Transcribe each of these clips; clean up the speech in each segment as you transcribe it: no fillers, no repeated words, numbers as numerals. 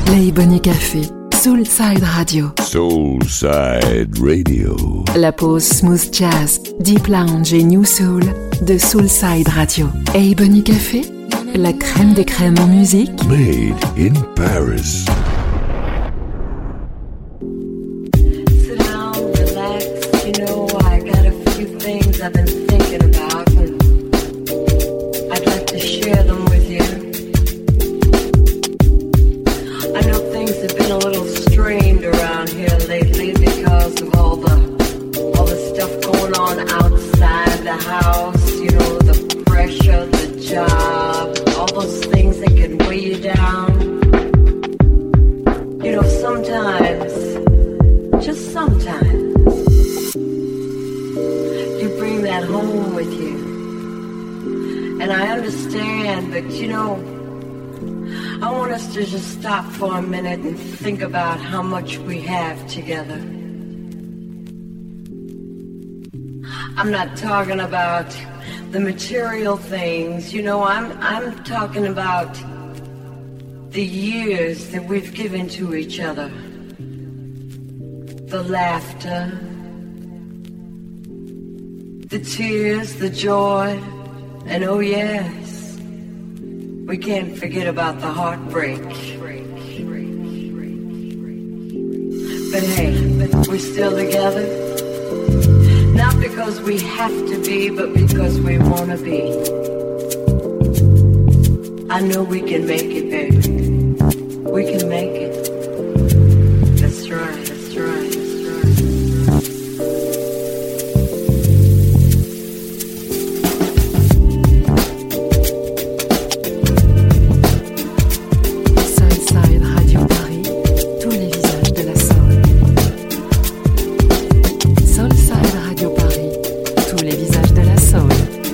L'Ebony Café, Soulside Radio. Soulside Radio. La pause smooth jazz, deep lounge et new soul de Soulside Radio. Ebony Café, la crème des crèmes en musique. Made in Paris. Sit down, relax. You know, I got a few things I've been thinking about, and I'd like to share them with you. I know things have been a little strained around here lately because of all the stuff going on outside the house. You know, the pressure, the job, all those things that can weigh you down. You know, sometimes, just sometimes, you bring that home with you. And I understand, but you know, I want us to just stop for a minute and think about how much we have together. I'm not talking about the material things, you know, I'm talking about the years that we've given to each other. The laughter, the tears, the joy, and oh yes, we can't forget about the heartbreak. But hey, we're still together. Not because we have to be, but because we want to be. I know we can make it, baby. We can make it. That's right, that's right, that's right. Soulside Radio Paris, tous les visages de la soul. Soulside Radio Paris, tous les visages de la soul.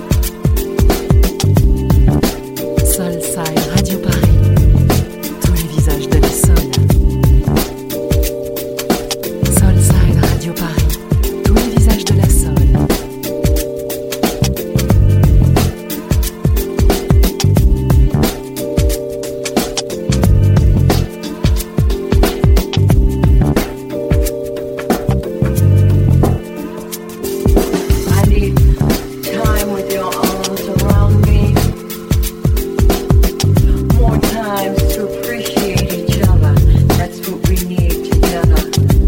Soulside Radio Paris, tous les visages de la soul. Soulside Radio Paris, tous les visages de la soul. I need time with your arms around me. More times to appreciate each other. That's what we need together.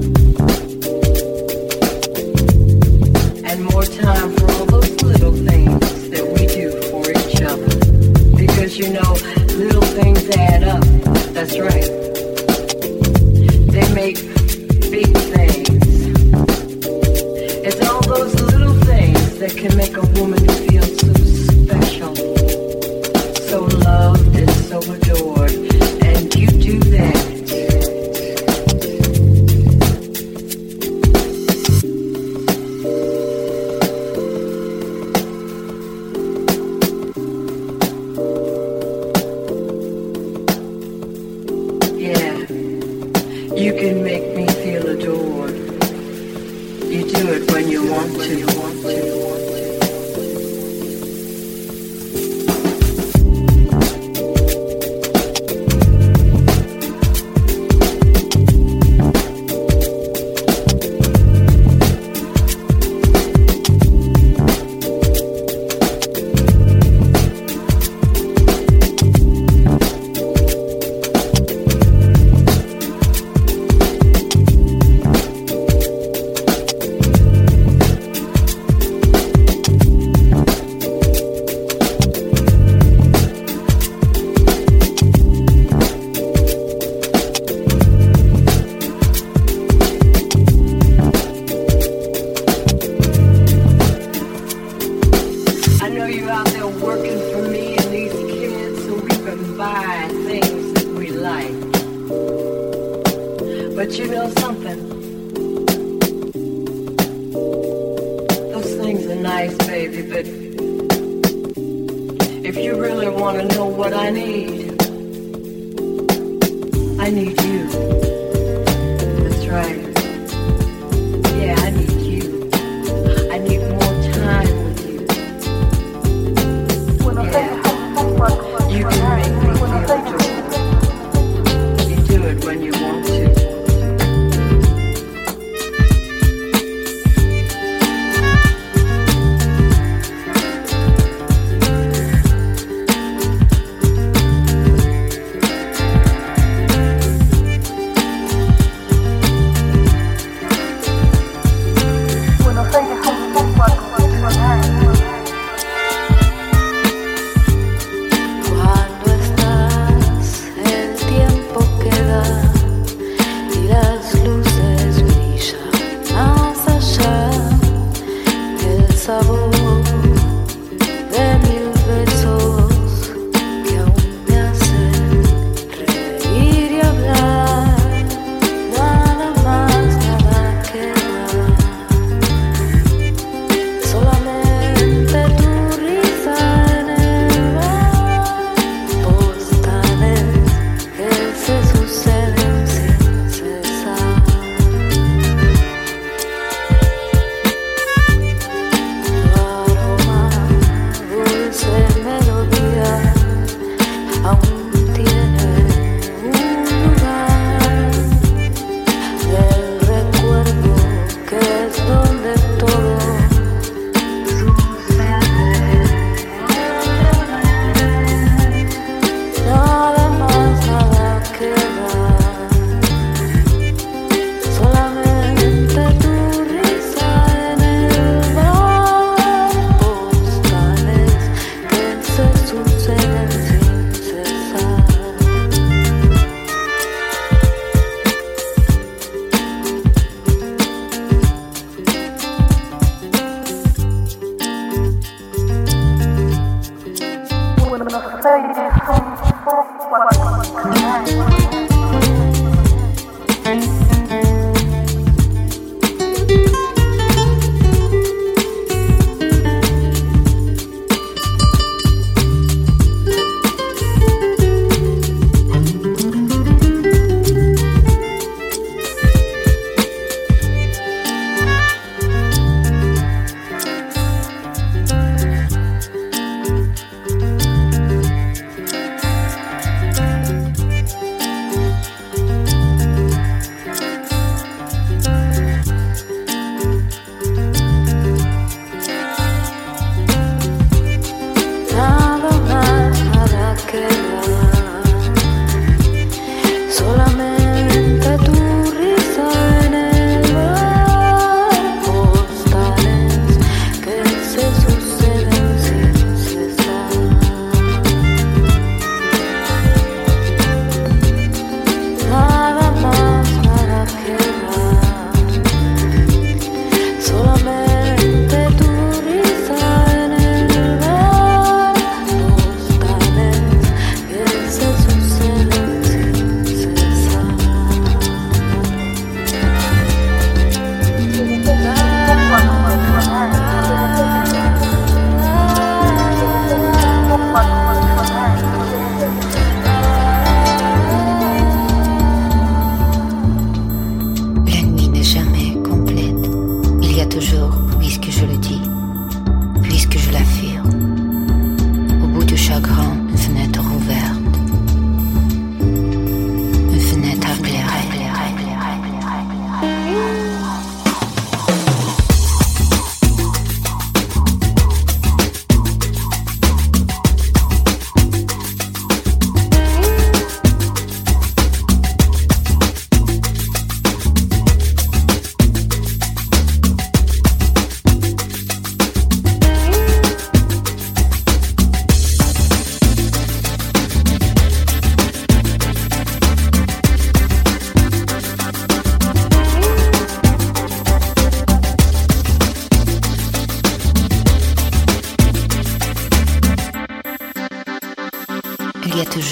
And more time for all those little things that we do for each other. Because you know, little things add up. That's right. They make big things. It's all those little things that can make a woman feel so special, so loved and so adored. And you do that. Yeah, you can make me feel adored. You do it when you want to. I know you're out there working for me and these kids so we can buy things that we like. But you know something? Those things are nice, baby, but if you really want to know what I need you. That's right. Yeah, I need you. I need more time with you. Yeah. You can make me feel adored. You do it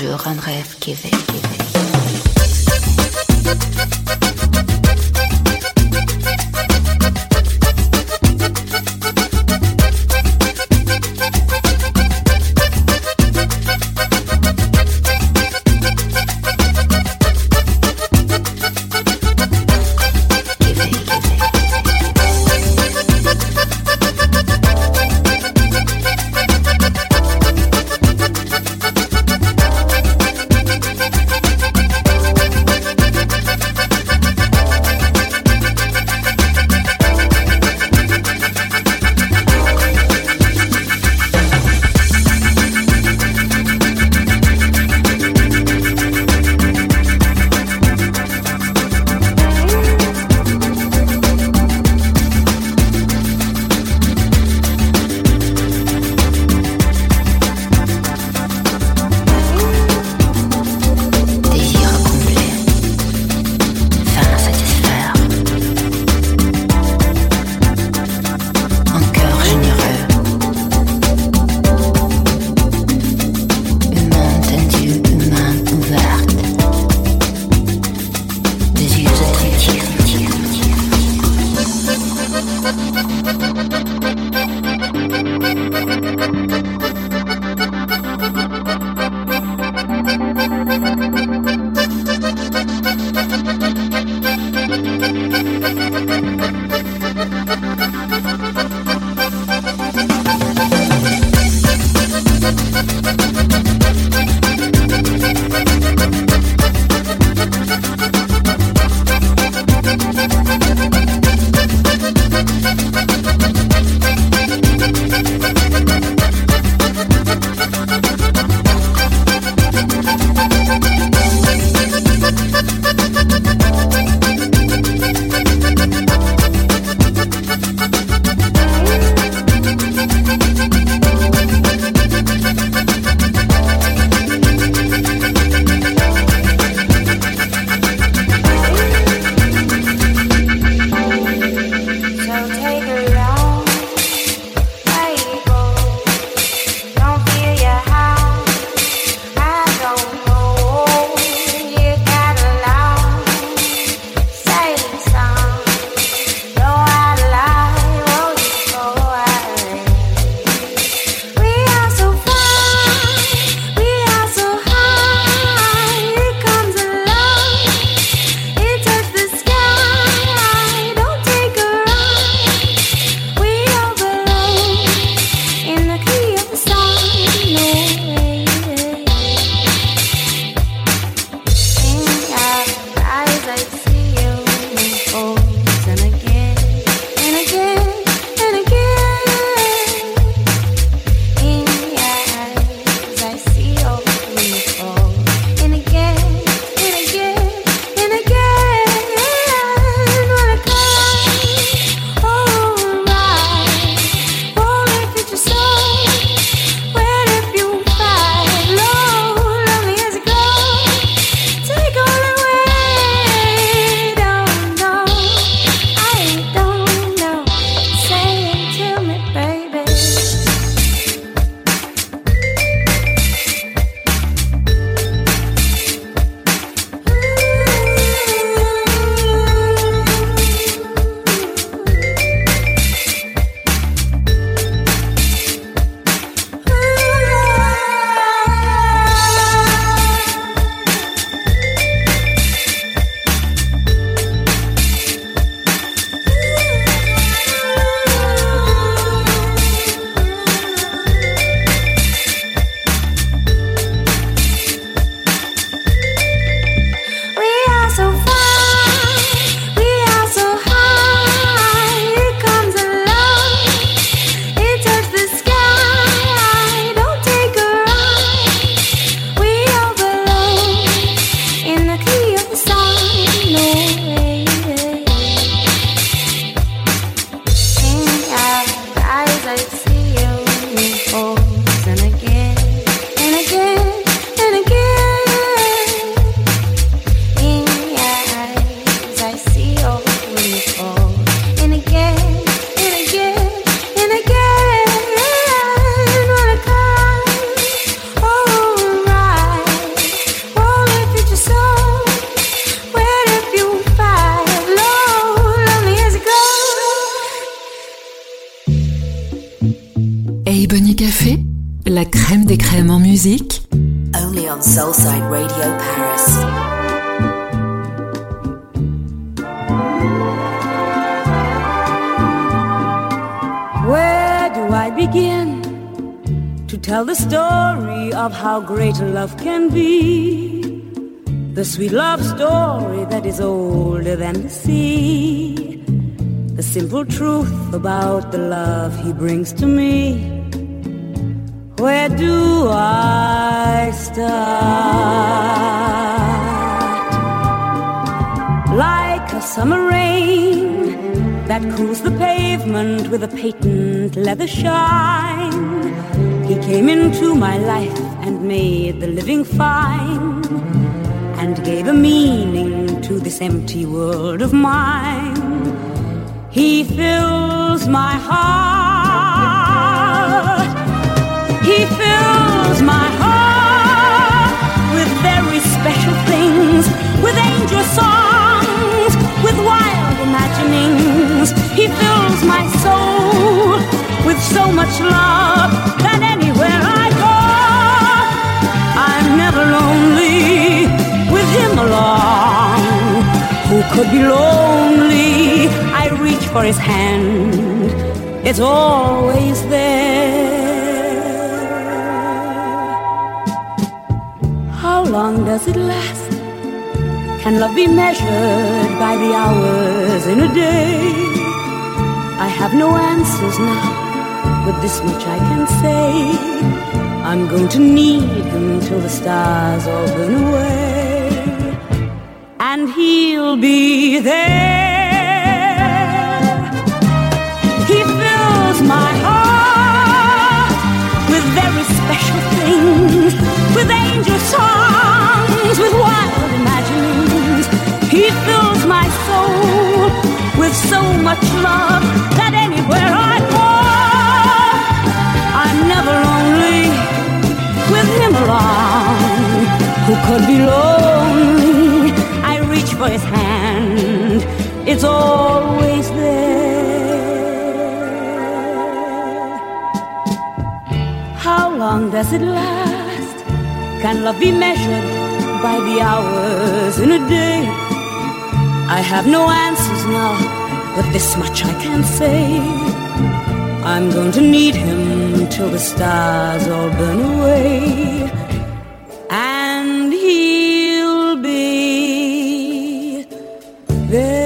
toujours un rêve qui éveille. musique. Only on Soulside Radio Paris. Where do I begin to tell the story of how great love can be? The sweet love story that is older than the sea. The simple truth about the love he brings to me. Where do I start? Like a summer rain that cools the pavement with a patent leather shine. He came into my life and made the living fine, and gave a meaning to this empty world of mine. He fills my heart. He fills my heart with very special things, with angel songs, with wild imaginings. He fills my soul with so much love that anywhere I go, I'm never lonely with him along. Who could be lonely? I reach for his hand, it's always there. How long does it last? Can love be measured by the hours in a day? I have no answers now, but this much I can say. I'm going to need him till the stars all burn away, and he'll be there. He fills my heart with very special things, with angel songs, with wild imaginings. He fills my soul with so much love that anywhere I go, I'm never lonely with him along. Who could be lonely? I reach for his hand, it's always there. How long does it last? Can love be measured by the hours in a day? I have no answers now, but this much I can say. I'm going to need him till the stars all burn away, and he'll be there.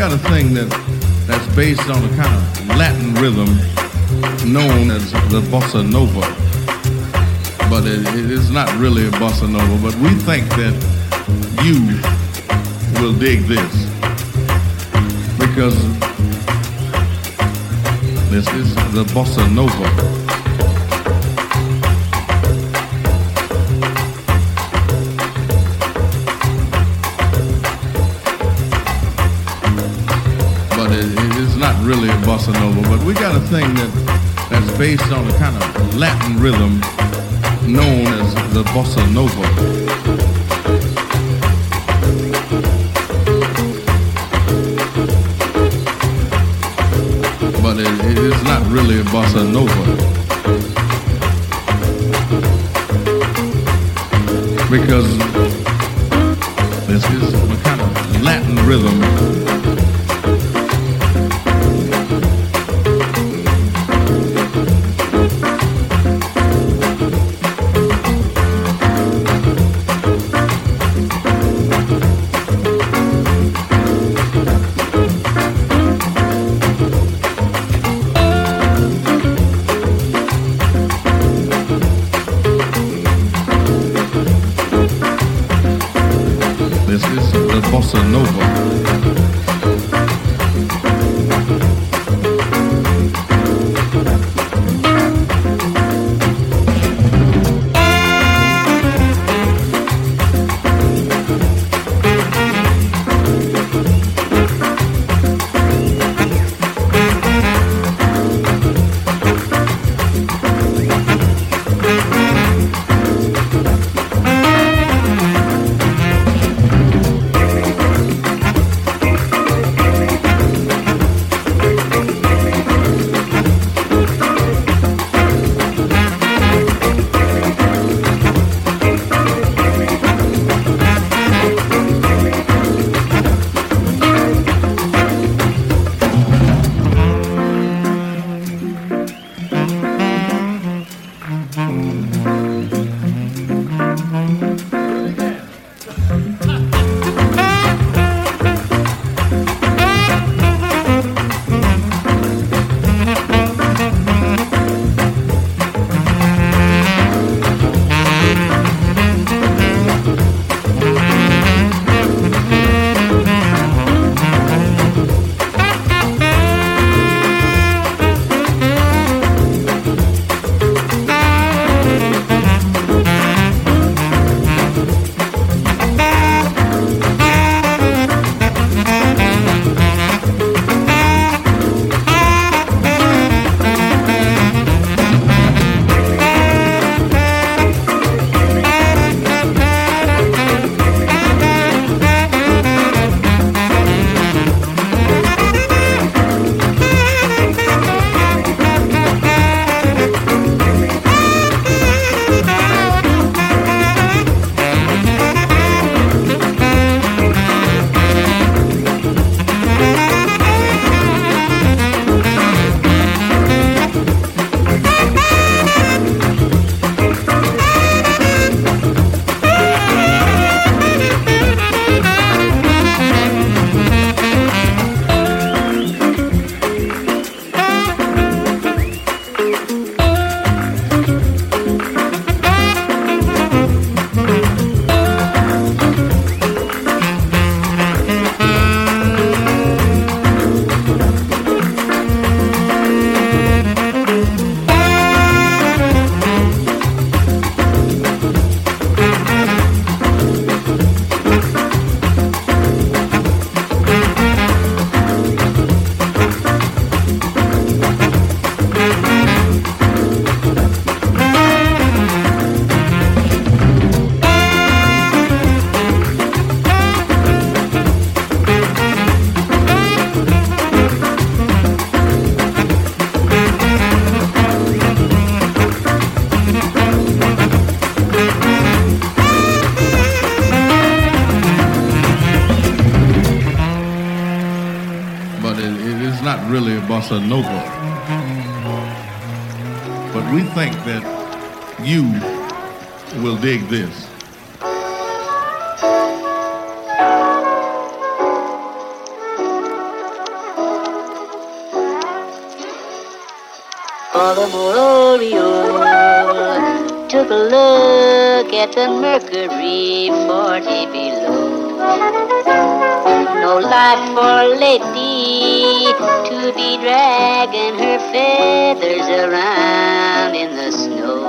got a thing that's based on a kind of Latin rhythm known as the bossa nova. But it is not really a bossa nova, but we think that you will dig this because this is the bossa nova. It is not really a bossa nova, but we got a thing that's based on a kind of Latin rhythm known as the bossa nova. But it is not really a bossa nova because this is a kind of Latin rhythm. This is the bossa nova. really a bossa nova. But we think that you will dig this. Baltimore Oriole took a look at the mercury 40 below. No life for lady to be dragging her feathers around in the snow.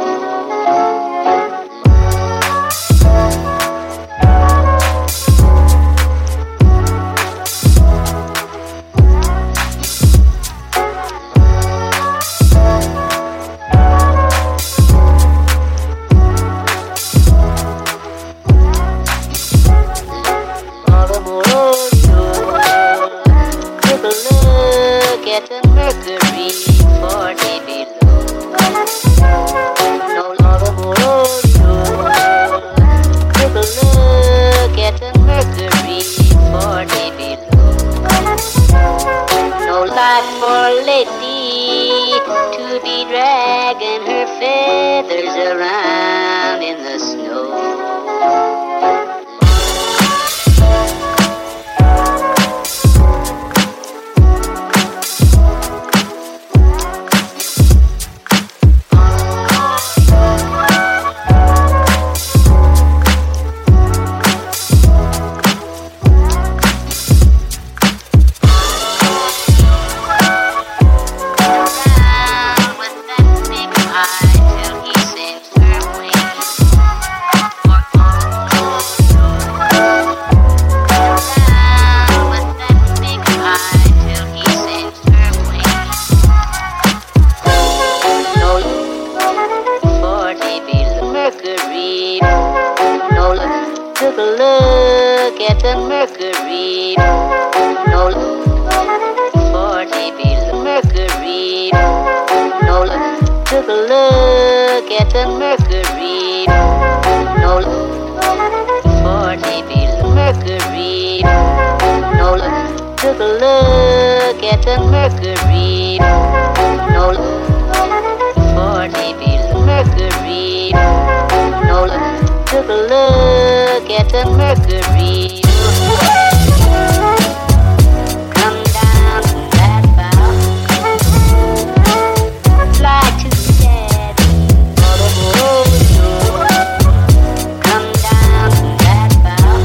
Get the mercury 40 below. No longer more take a look at the mercury 40 below. No life for lady to be dragging her feathers around in the snow. Took a look at the mercury. No 40 below mercury. No took a look at the mercury. No 40 below mercury. No took a look at the mercury. No 40 below mercury. No took a look at the mercury. Come down from that bow, fly to the daddy, come down from that bow,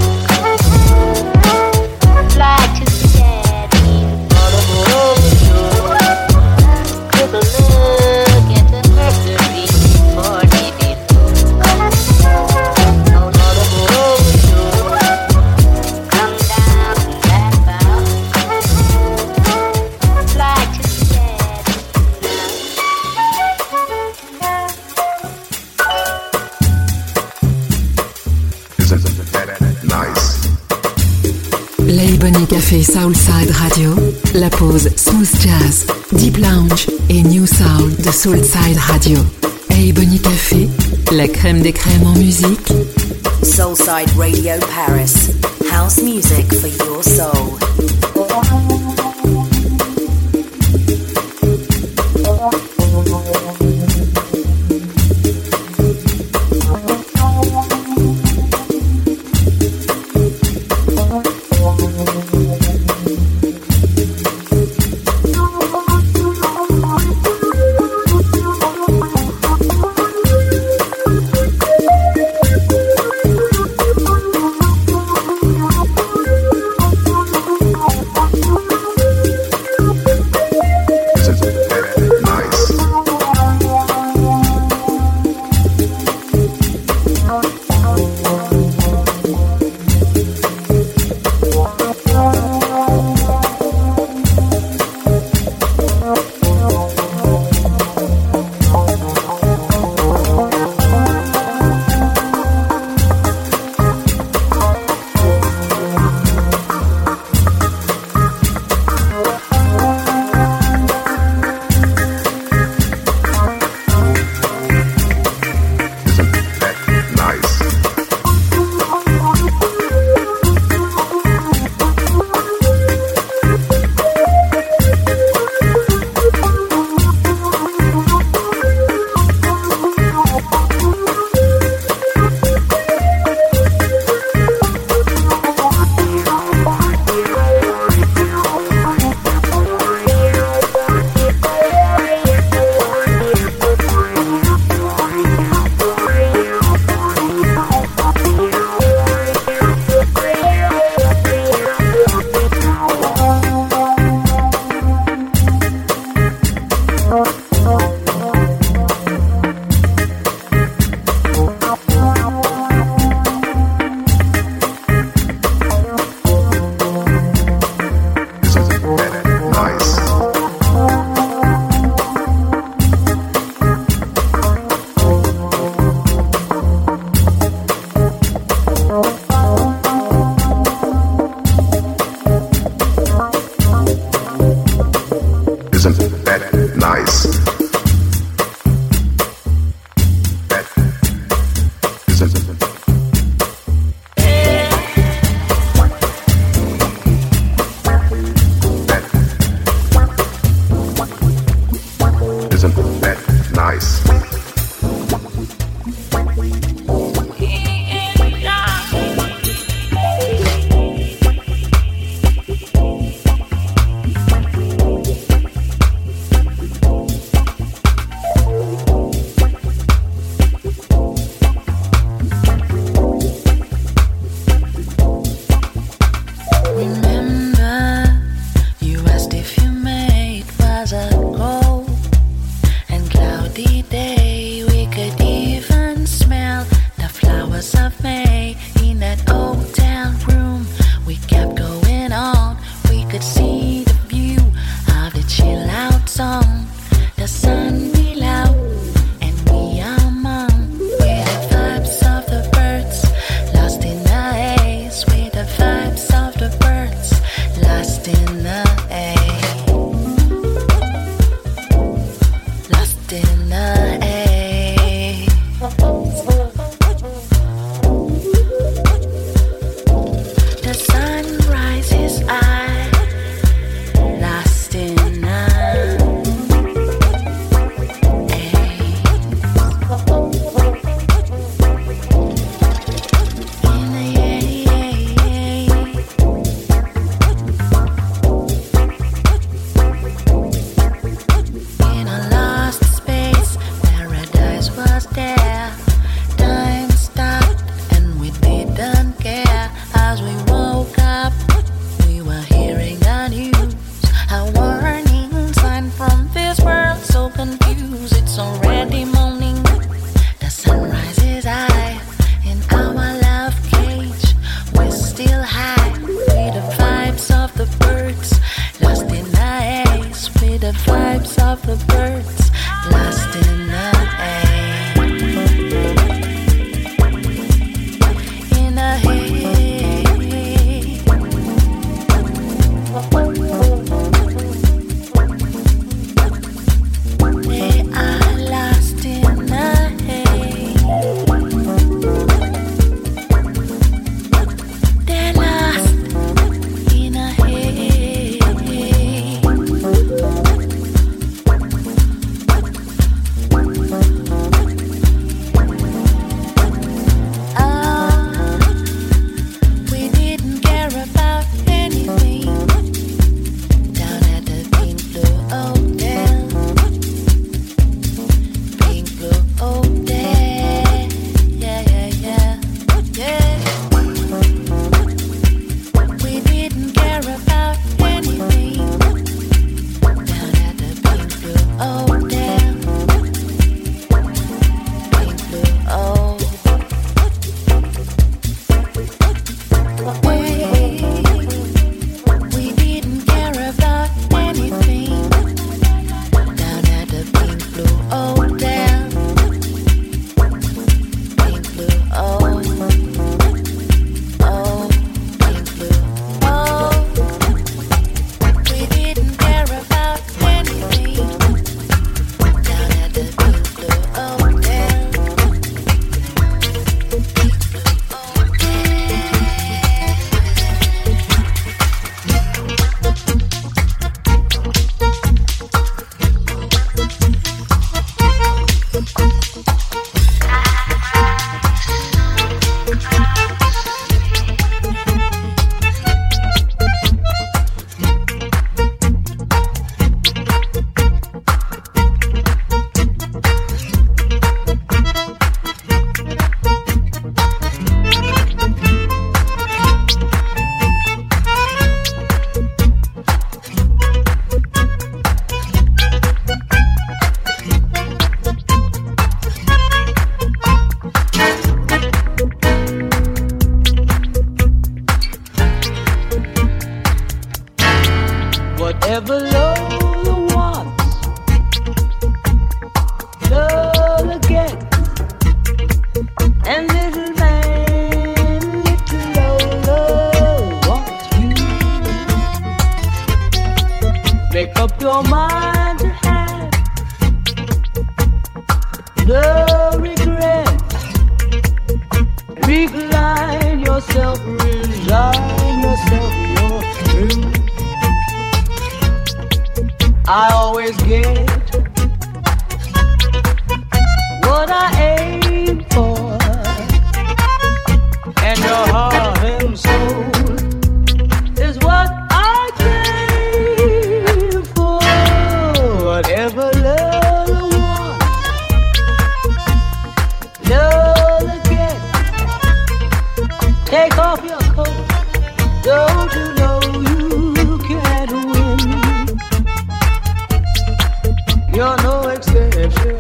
fly to the daddy, took a look at the mercury 40 below. L'Ebony Café Soulside Radio, la pause Smooth Jazz, Deep Lounge et New Soul de Soulside Radio. Ebony Café, la crème des crèmes en musique. Soulside Radio Paris, house music for your soul.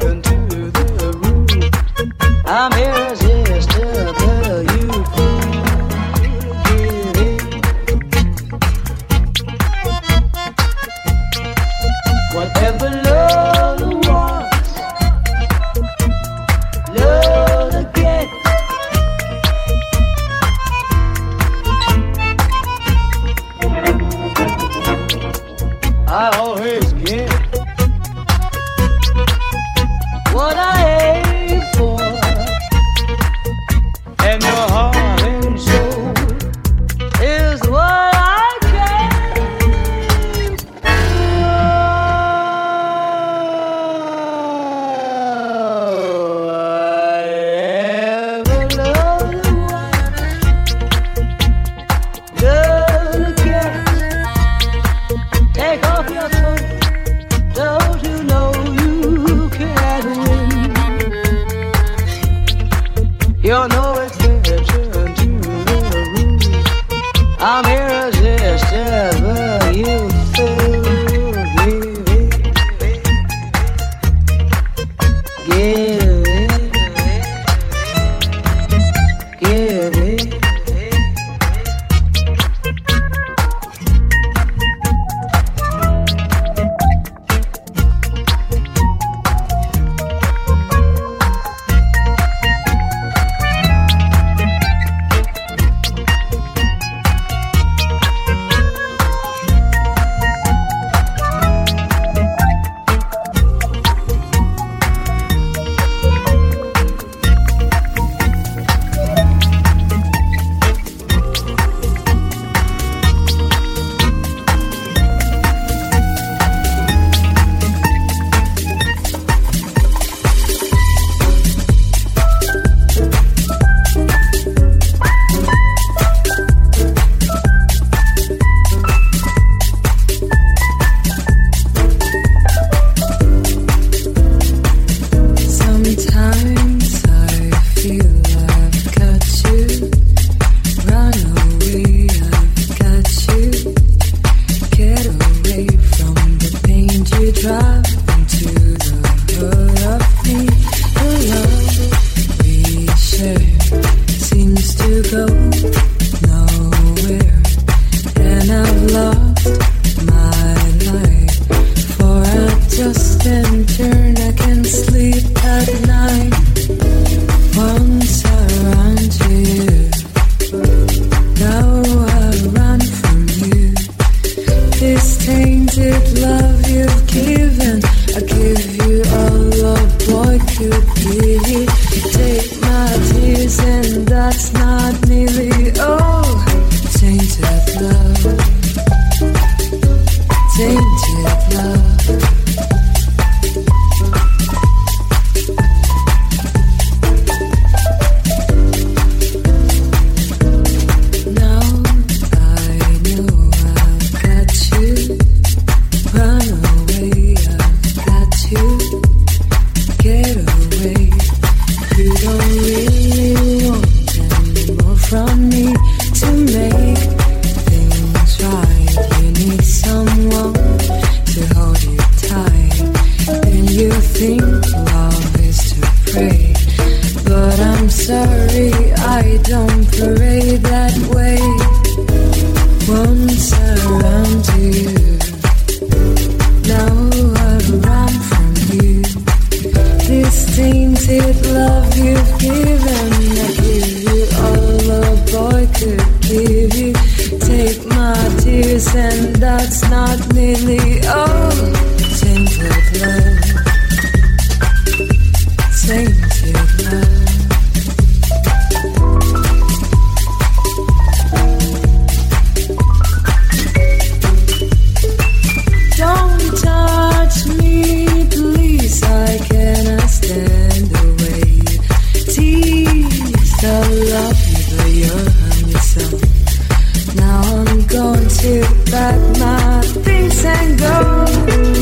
Now I'm going to pack my things and go.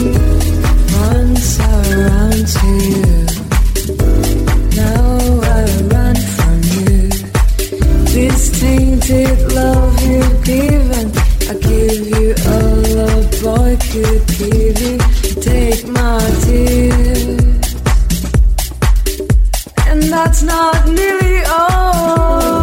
that's not nearly all.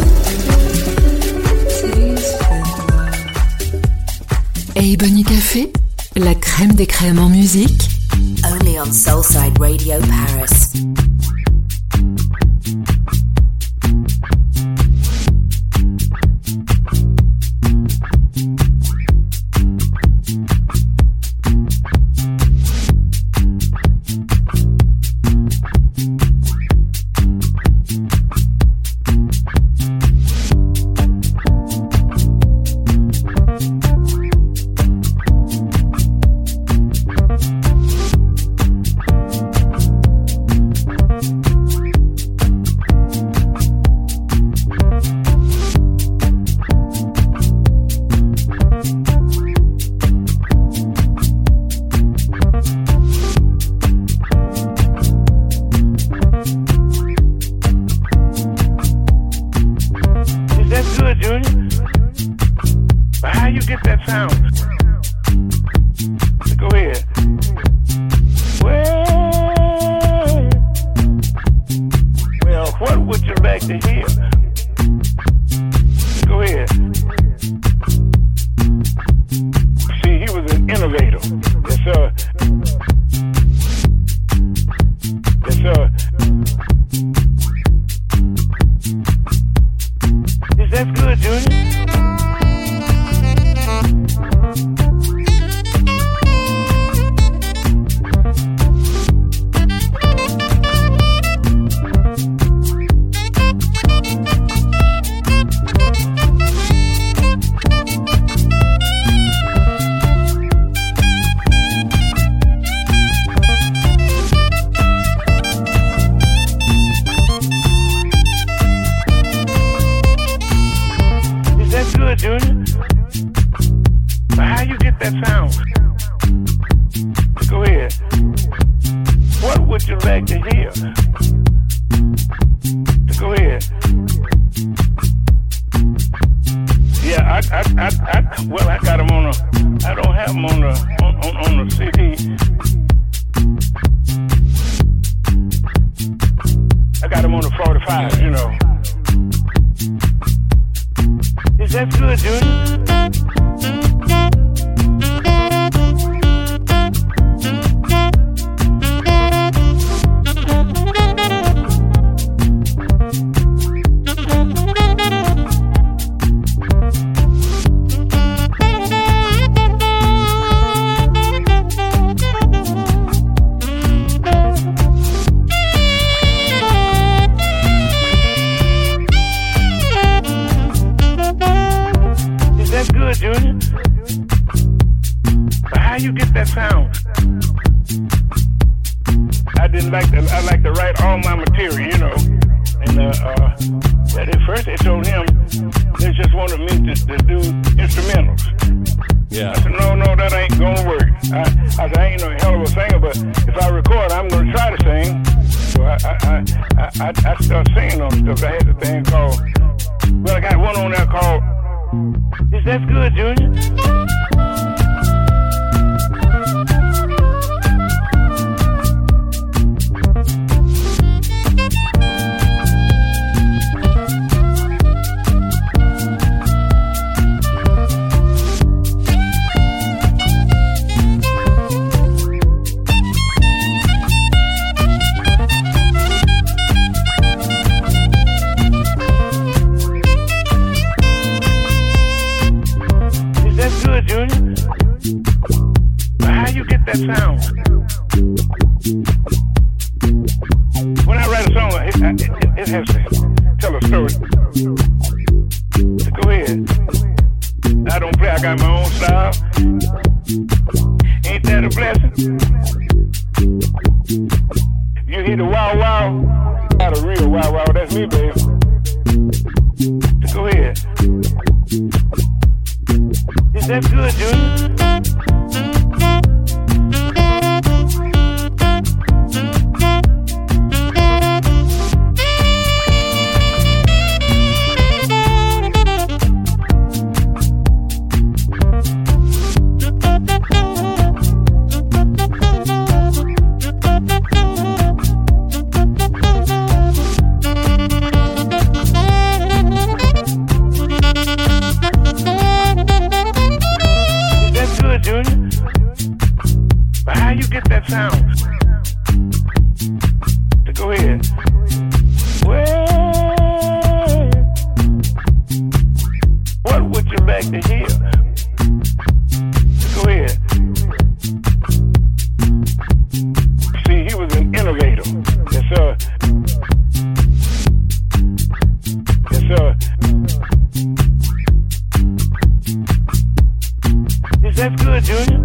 Hey Bunny Café, la crème des crèmes en musique. Only on Soulside Radio Paris. Go ahead. Well, what would you like to hear? Go ahead. See, he was an innovator. Yes, sir. Yes, sir. That's good, Junior.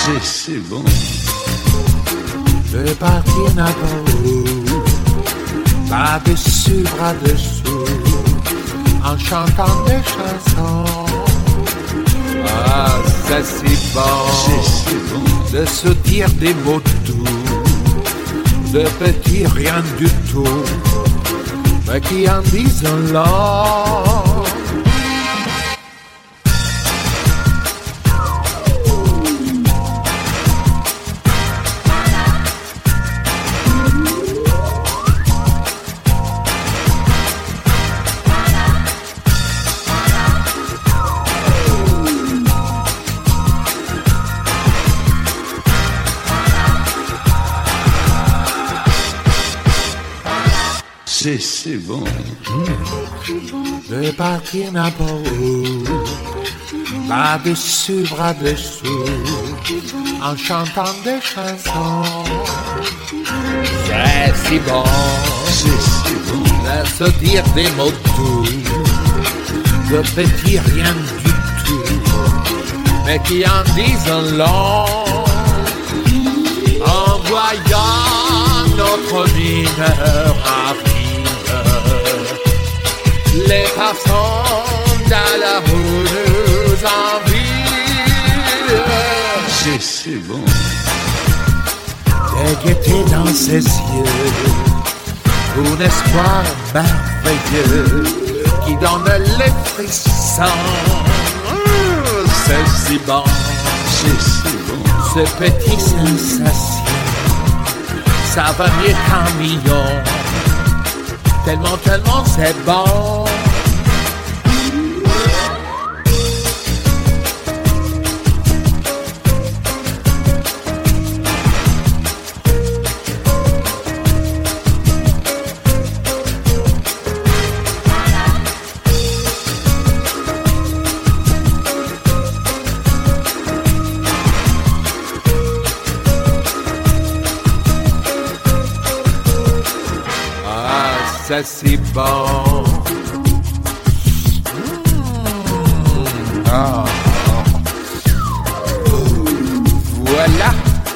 c'est bon. Je vais partir n'importe où, bras dessus, bras dessous, en chantant des chansons. Ah, c'est si bon, de se dire des mots doux, de petits rien du tout, mais qui en disent long. C'est bon. Je vais partir n'importe où, bras dessus, bras dessous, en chantant des chansons. C'est si bon, de se dire des mots doux, de petits rien du tout, mais qui en disent long. En voyant notre mineur arrive, les passants dans la rue nous envient. C'est bon. Des gaietés dans ses yeux, un espoir merveilleux qui donne les frissons. C'est si bon, ce petit sensation, ça va mieux qu'un million. Tellement, tellement c'est bon. C'est si bon. Ah. Voilà.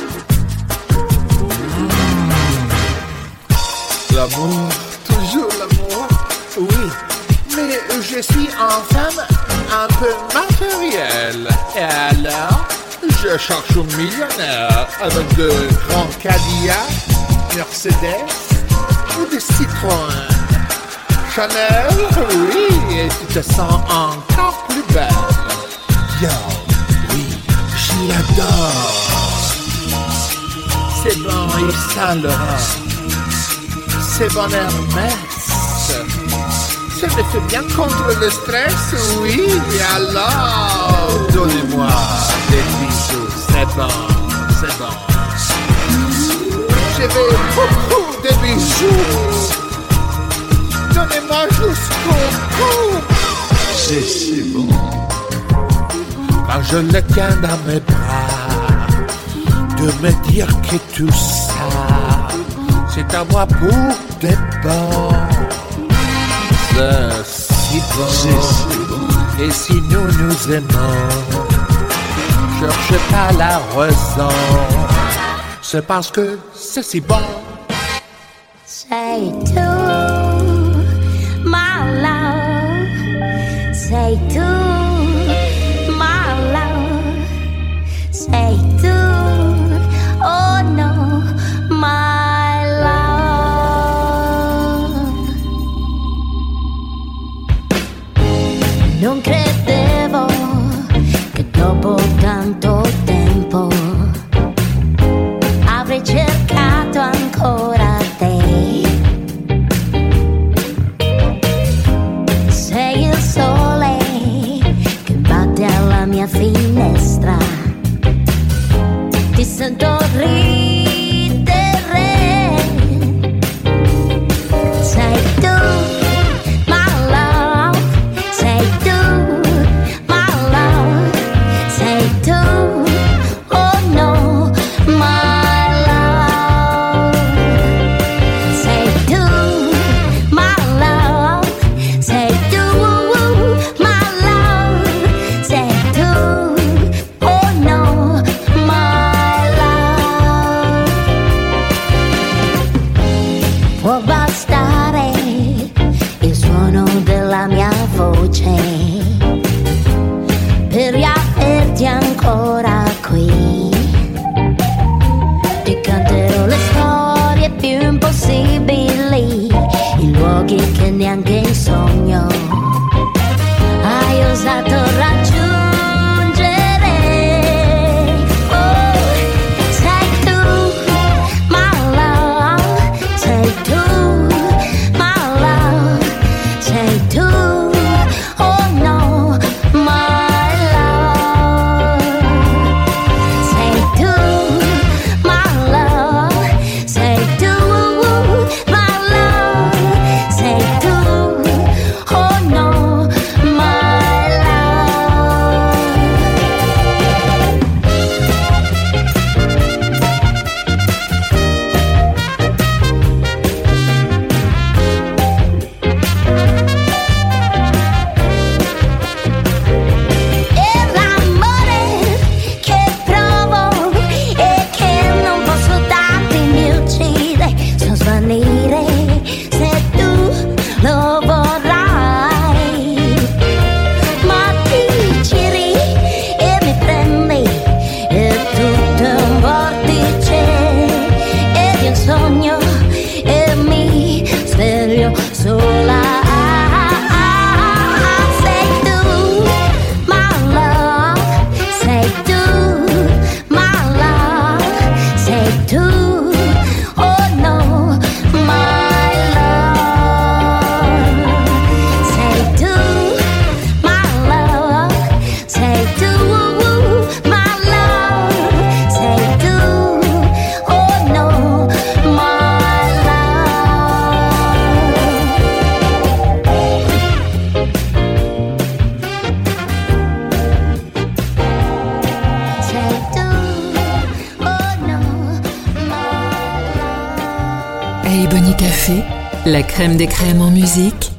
L'amour, toujours l'amour. Oui, mais je suis en femme un peu matérielle. Et alors, je cherche un millionnaire avec de grands Cadillacs, Mercedes ou des Citroën. Chanel, oui, et tu te sens encore plus belle. Yo, oui, je l'adore. C'est bon Yves Saint Laurent, c'est bon Hermès. Ça me fait bien contre le stress, oui, et alors, donnez-moi des bisous, c'est bon, c'est bon. Je veux beaucoup de bisous. Donnez-moi jusqu'au bout. C'est bon. Quand je le tiens dans mes bras, de me dire que tout ça, c'est à moi pour des bons. C'est si bon. Et si nous nous aimons, cherchez pas la raison. C'est parce que c'est si bon. Say to my love, say to my love, say to, oh no, my love. Non credevo che dopo tanto tempo avrei cercato ancora te. Sei il sole che batte alla mia finestra, ti sento ridere. Sei tu, my love, sei tu, my love, sei tu, oh no, my love. Say do, my love. Say do, my love. Say do, oh no, my neanche in sogno hai osato raggiungere. Oh, sei tu, my love, sei tu, my love, sei tu, oh no, my love, sei tu, my love, sei tu, my love, sei tu, oh no, my love. E l'amore che provo e che non posso darti mi uccide, so svanire se tu lo vorrai, ma ti giri e mi prendi e tutto è un vortice ed io sogno e mi sveglio sola. Sei tu, my love, sei tu, my love, sei tu, oh no, my love, sei tu, my love, sei tu, my love, sei tu, oh no, my love. Sei tu, oh no, my love. Hey Bonnie Café, la crème des crèmes en musique